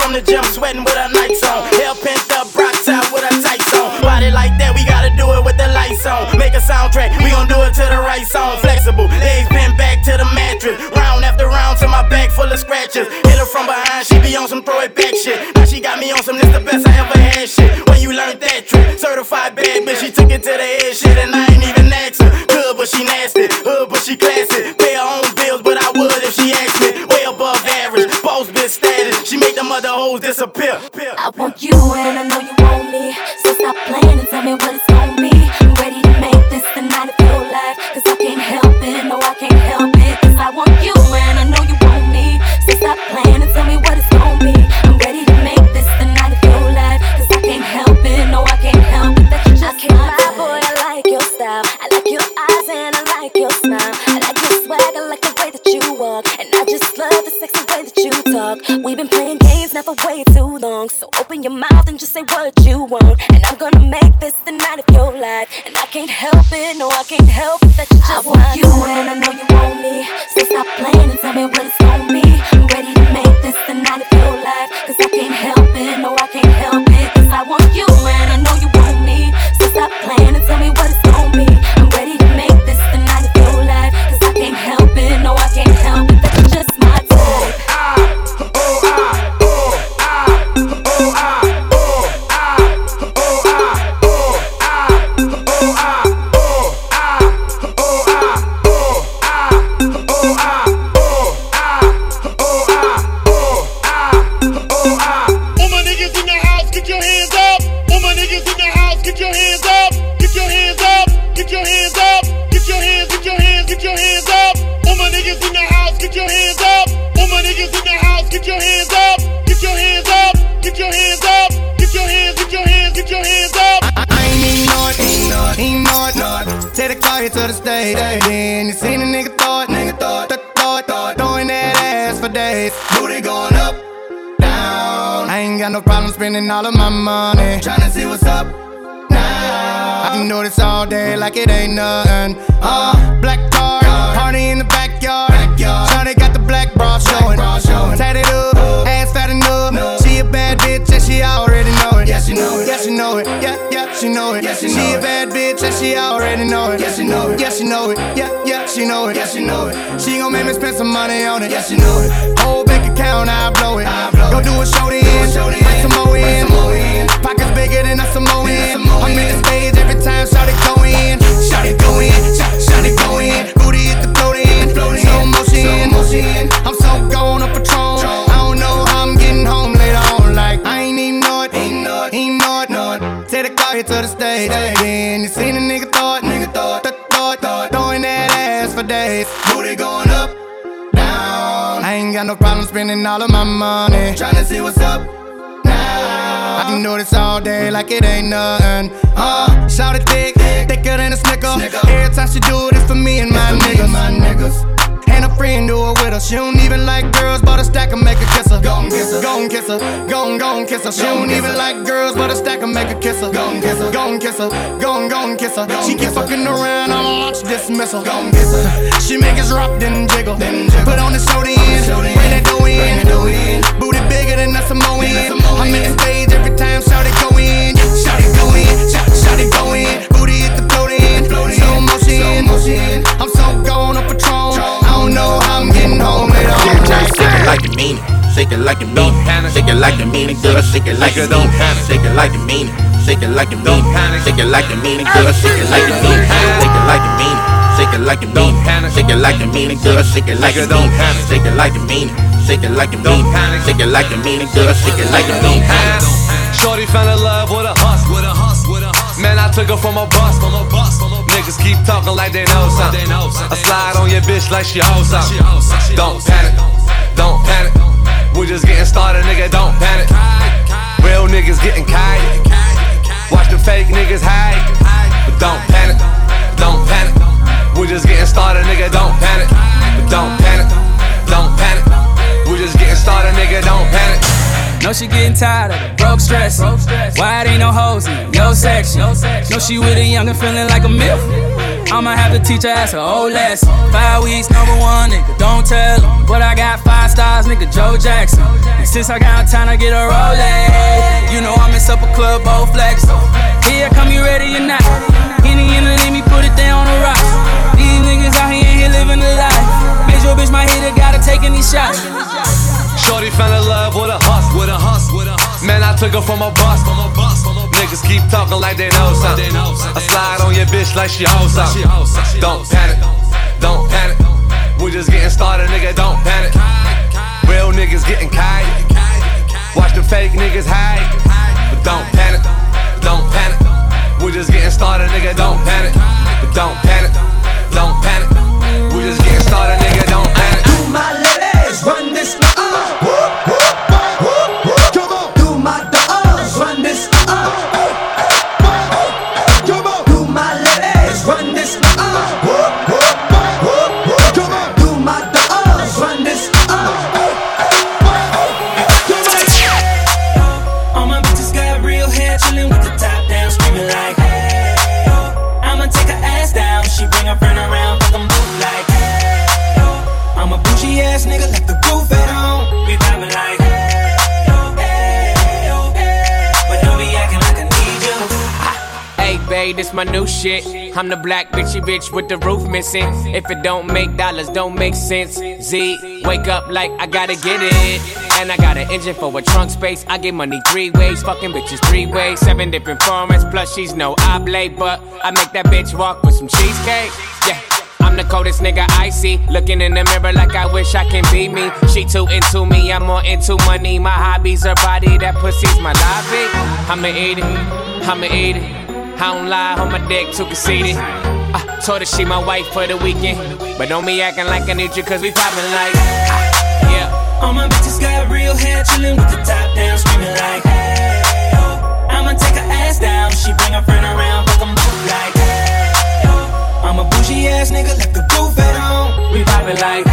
from the gym, sweating with her nights on. Hair pent up, rock top with her tights on. Body like that, we gotta do it with the lights on. Make a soundtrack, we gon' do it to the right song. Flexible, legs bent back to the mattress. Round after round to my back full of scratches. Hit her from behind, she be on some throw it back shit. Now she got me on some, this the best I ever had shit. When you learned that trick, certified bad bitch, she took it to the head shit. And I ain't even asked her. Good, but she nasty. Hood, but she classy. Pay her own bills, but I would if she asked me. Way above average, boss bitch status. She make them other hoes disappear. I want you and I know you want me. So stop playing and tell me what it's gonna be. I'm ready to make this the night of your life. Cause I can't help it, no I can't help it. Cause I want you and I know you want me. So stop playing and tell me what it's gonna be. I'm ready to make this the night of your life. Cause I can't help it, no I can't help it. That you just can't lie, boy, I like your style. I like your eyes and I like your smile. I like your swag, I like the way that you walk. And I just love the sexy way that you talk. We've been playing games now for way too long. So open your mouth and just say what you want. And I'm gonna make this the night of your life. And I can't help it, no I can't help it. That you just I want you and I know you want me. So stop playing and tell me what it's gonna be. I'm ready to make this the night of your life. Cause I can't help it, no I can't help it. Cause I want you and I know you want me. So stop playing and tell me what it's gonna be. I'm ready to make this the night of your life. Cause I can't help it, no I can't help it. That you just my type. To the stage, then you seen a nigga thought, nigga thought, th- thought, thought, throwing that ass for days. Booty going up, down. I ain't got no problem spending all of my money, tryna see what's up now. I can do this all day like it ain't nothing. Uh, black car, party in the backyard. Shawty got the black bra showing, tatted up, ass fat enough. She a bad bitch and she already know it. Yeah, she know it. Yeah, she know it. Yeah, yeah, she know it. She a bad bitch and she already know it. Yeah, she know it. Yeah, she know it. Yeah, yeah, she know it. Yeah, she know it. She gon' make me spend some money on it. Yeah, she know it. Whole bank account, I blow it. Go do a show in, bring some more in. Pockets bigger than a Samoan. I'm in the stage every time Shawty go in. Shawty go in, Shawty go in. Booty hit the float in, slow motion. I'm so gone on Patron. I don't know how I'm getting home later on. Like I ain't even know it, ain't know it, ain't know it, know it. Take the car here to the stage, then you seen a nigga thought, nigga thought, th- thought, thought, throwing that ass for days. Booty going up, down. I ain't got no problem spending all of my money, tryna see what's up now. I can do this all day like it ain't nothing. Uh, shout it thick, thicker than a snicker. Every time she do it, it's for me and my niggas. My niggas. And a friend do it with her. She don't even like girls, but a stack and make her kiss her. Gon' kiss her, gon' kiss her, gon' gon' kiss her. She don't even like girls, but a stack and make her kiss her. Gon' kiss her, gon' kiss her, gon' gon' kiss her. She keep fucking around, I'ma launch dismissal. Gon' kiss her. She make us drop, then jiggle. Put on the show the end, bring that dough in. Booty bigger than a Samoan. I'm in the stage every time Shawty go in. Shawty go in, Shawty go in. Booty hit the float in, slow motion. I'm so gone on Patron. I don't know how I'm getting home later on. Shake it like you mean it. Shake it like you mean it. Shake it like you mean it, girl. Shake it like you mean it. Shake it like you mean it. Shake it like you mean it. Shake it like you mean it, girl. Shake it like you mean it. Shake it like you mean it. Shake it like you mean it. Shake it like you mean it, girl. Shake it like you mean it. Shake it like you mean it. Shake it like you mean it. Shake it like you mean it, girl. Shake it like you mean it. Shorty fell in love with a hus, with a hus, with a hus. Man, I took her from a bus, from a bus. Niggas keep talking like they know something. I slide on your bitch like she hoes something. Don't panic, don't panic. We just getting started, nigga. Don't panic. Real niggas getting kite. Watch the fake niggas hide, but don't panic, don't panic. We just getting started, nigga. Don't panic, but don't panic, don't panic. We just getting started, nigga. Don't panic. Know she getting tired of it, broke stress. Why it ain't no hoes in your section? Know she with a youngin' feeling like a milf. I'ma have to teach her ass an old lesson. Five weeks, number one, nigga, don't tell him. But I got five stars, nigga, Joe Jackson. And since I got time to get a Rolex, you know I'm in supper club, both flex. Here, come you ready or not? Henny in the let me put it down on the rocks. These niggas out here ain't here living the life. Make sure bitch my hitter gotta take any shots. Shorty fell in love with a hustle, with a hustle, with a hustle. Man, I took her from a bus, from a bus. Niggas keep talking like they know something. I slide on your bitch like she hoes something. Don't panic, don't panic. We just getting started, nigga, don't panic. Real niggas getting kite. Watch the fake niggas hide. But don't panic, don't panic. We just getting started, nigga, don't panic. But don't panic, don't panic. We just getting started, nigga, don't panic. Do my ladies run this uh whoop, whoop, whoop, whoop. Come on. Do my dogs run this uh Come on. Do my ladies run this uh whoop, whoop, whoop, whoop. Come on. Do my dogs run this uh All my bitches got real hair, chillin' with the top down, screaming like hey. I'ma take her ass down, she bring her friend around, fuck 'em both like hey. I'm a bougie ass nigga, left the roof at home. We poppin' like hey, hey, hey. But don't be acting like I need you. Hey babe, this my new shit. I'm the black bitchy bitch with the roof missing. If it don't make dollars, don't make sense. Z, wake up like I gotta get it. And I got an engine for a trunk space. I get money three ways, fucking bitches three ways. Seven different formats, plus she's no oblate. But I make that bitch walk with some cheesecake. Yeah, I'm the coldest nigga I see. Looking in the mirror like I wish I can be me. She too into me, I'm more into money. My hobbies are body, that pussy's my lobby. I'ma eat it, I'ma eat it. I don't lie, on my dick too conceited. I told her she my wife for the weekend. But don't be acting like I need you, cause we poppin' like yeah. All my bitches got real hair, chillin' with the top down, screaming like hey. I'ma take her ass down, she bring her friend around, fuck 'em both like hey. I'm a bougie ass nigga, left the roof at home. We poppin' like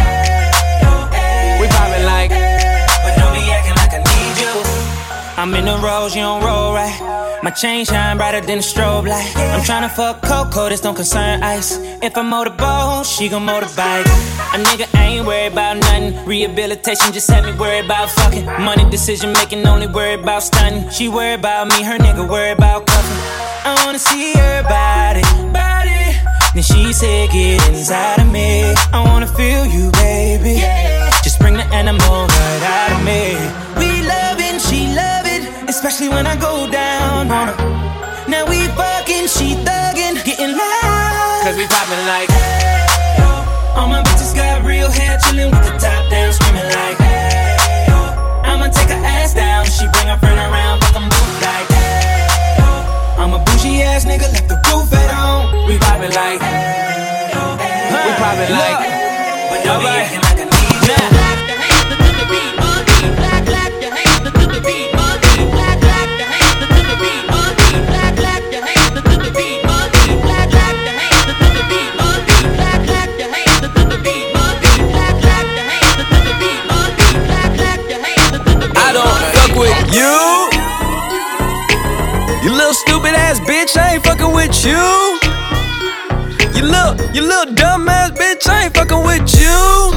hey. We poppin' like hey. But don't be acting like I need you. I'm in the rose, you don't roll right. My chain shine brighter than a strobe light. I'm tryna fuck Coco, this don't concern ice. If I motorboat, she gon' motorbike. A nigga ain't worried about nothing. Rehabilitation just had me worried about fucking. Money decision making, only worried about stunning. She worried about me, her nigga worried about cuffing. I wanna see her body, body. Then she said, get inside of me. I wanna feel you, baby. Just bring the animal right out of me. We loving, she love it, especially when I go down on her. Now we fucking, she thuggin', getting loud. Cause we poppin' like hey. All my bitches got real hair, chillin' with the top down, screaming like hey. I'ma take her ass down, she bring her friend around, fuck 'em both like hey. I'm a bougie ass nigga, left the roof at home. We poppin' like hey. We poppin' like but don't be acting like I need you. You, you little stupid ass bitch, I ain't fucking with you. You little, you little dumb ass bitch, I ain't fucking with you.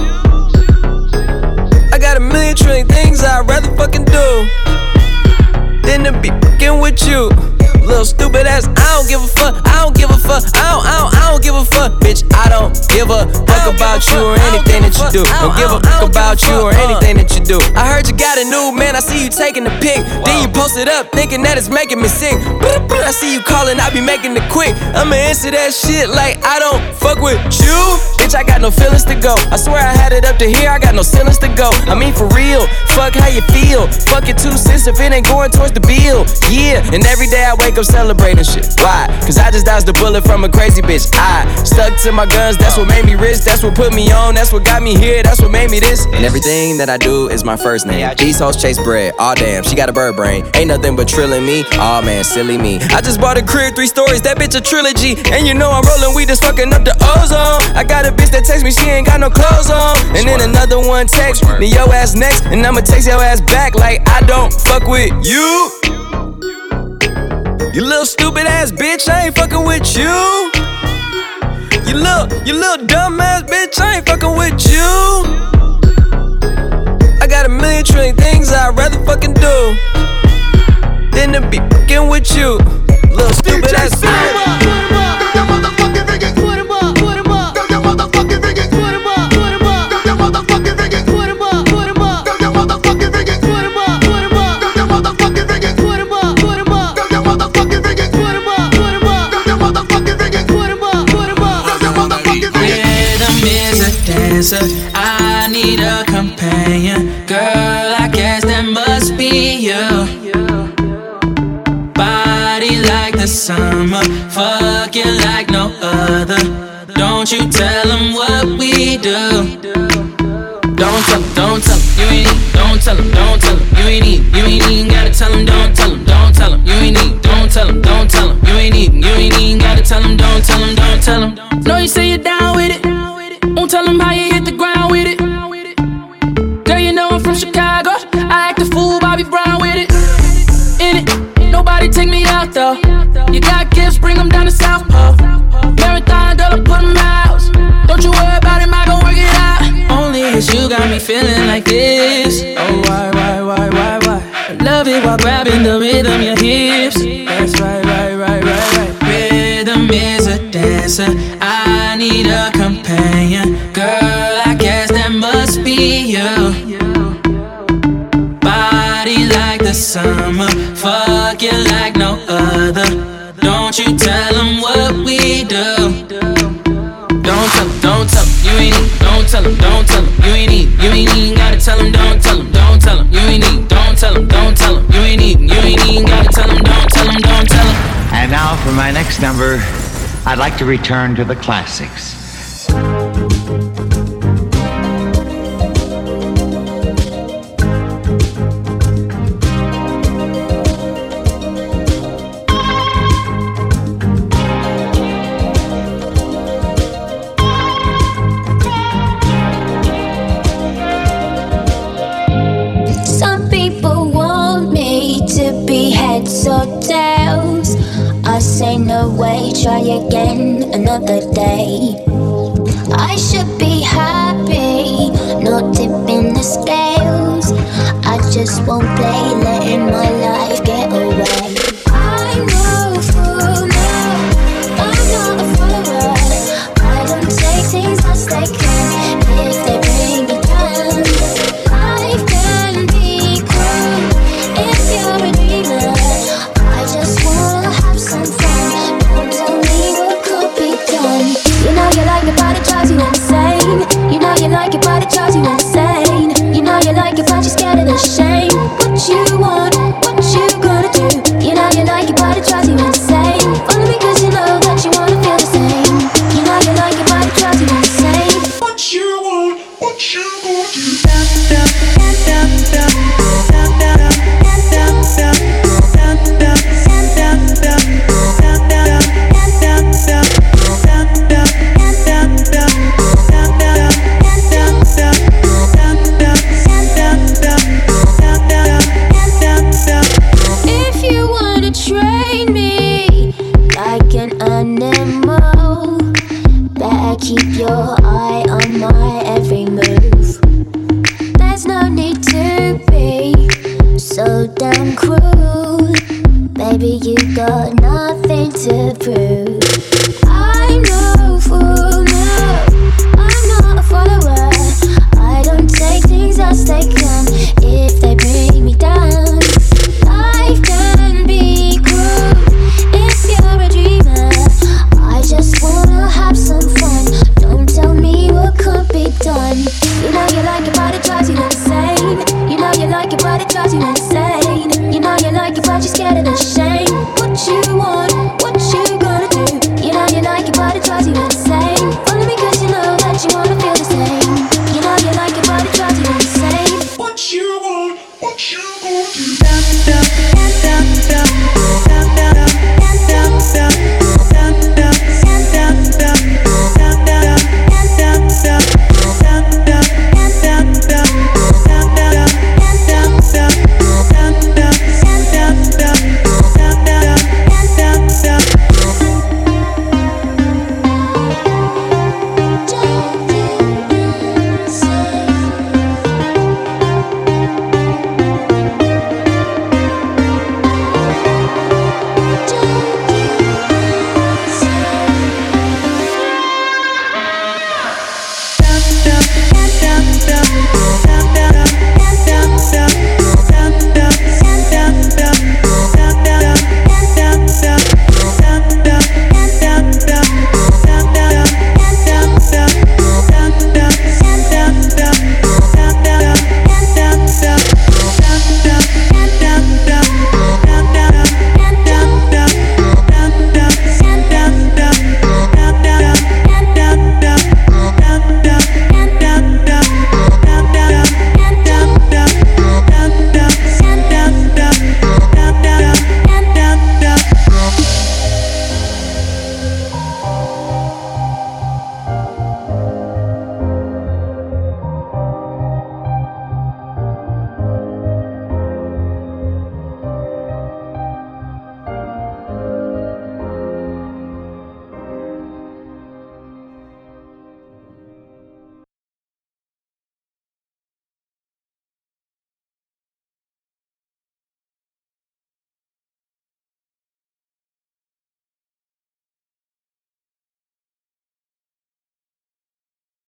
I got a million trillion things I'd rather fucking do than to be fucking with you. Little stupid ass, I don't give a fuck, I don't give a fuck, I don't, I don't, I don't give a fuck, bitch. I don't give a fuck about you or anything that you do. Don't give a fuck about you or anything that you do. I heard you got a new man, I see you taking the pic. Then you post it up, thinking that it's making me sick. I see you calling, I be making it quick. I'ma answer that shit like I don't fuck with you. Bitch, I got no feelings to go. I swear I had it up to here, I got no ceilings to go. I mean for real, fuck how you feel. Fuck your two cents if it ain't going towards the bill. Yeah, and every day I wake up celebrating shit. Why? Cause I just dodged a bullet from a crazy bitch. I stuck to my guns, that's what made me rich. That's what put me on, that's what got me here. That's what made me this. And everything that I do is my first name. These hoes chase bread, aw damn, she got a bird brain. Ain't nothing but trilling me, aw man, silly me. I just bought a crib, three stories, that bitch a trilogy. And you know I'm rolling weed, that's fucking up the ozone. I got a bitch that text me, she ain't got no clothes on. And then another one text me, yo ass next. And I'ma text your ass back like I don't fuck with you. You little stupid ass bitch, I ain't fucking with you. little, you little dumbass bitch, I ain't fucking with you. I got a million trillion things I'd rather fucking do than to be fucking with you. Little stupid ass bitch. I need a companion, girl, I guess that must be you. Body like the summer, fucking like no other. Don't you tell them what we do. Don't tell them, don't tell them, you ain't need. Don't tell them, don't tell them, you ain't need. You ain't even gotta tell them, don't tell them, don't tell them, you ain't need. Don't tell them, don't tell them, you ain't even. You ain't even gotta tell them, don't tell them, don't tell them. Know you say you're down with it. Won't tell them how you hit the ground with it. Girl, you know I'm from Chicago. I act a fool, Bobby Brown with it. In it, nobody take me out though. You got gifts, bring them down to South Pole. Marathon, girl, I put them miles. Don't you worry about it, I gon' work it out. Only cause you got me feeling like this. Oh, why, why, why, why, why? I love it while grabbing the rhythm, your hips. That's right, right, right, right, right. Rhythm is a dancer. I need a companion, girl, I guess that must be you. Body like the summer, fucking like no other. Don't you tell them what we do. Don't tell them, don't tell them, you ain't need. Don't tell them, don't tell them, you ain't need. You ain't even gotta tell them, don't tell them, don't tell them, you ain't need. Don't tell them, don't tell them, you ain't even. You ain't even gotta tell them, don't tell them, don't tell them. And now for my next number, I'd like to return to the classics. Some people want me to be heads or tails. I say no way, try again another day. I should be happy, not tipping the scales. I just won't play, letting my life get away. I'm no fool now, I'm not a follower. I don't take things as they can, if they bring me down. Life can be cruel if you're a dreamer. I just wanna have some fun, don't tell me what could be done. You know you like it, but it drives you insane. You know you like it, but it drives you insane. You know you like it, but you're scared of the shame. What you want, what you gonna do? You know you like it, but it drives you insane. Only because you know that you wanna feel the same. You know you like it, but it drives you insane. What you want, what you gonna do? If you wanna train me like an animal, better keep your eye on my every move. There's no need to be so damn cruel. Baby, you got nothing to prove.